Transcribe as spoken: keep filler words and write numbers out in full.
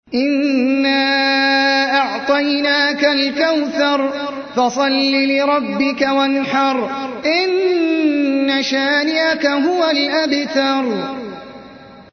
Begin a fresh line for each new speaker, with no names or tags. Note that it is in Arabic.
إنا أعطيناك الكوثر فصل لربك وانحر إن شانئك هو الأبتر.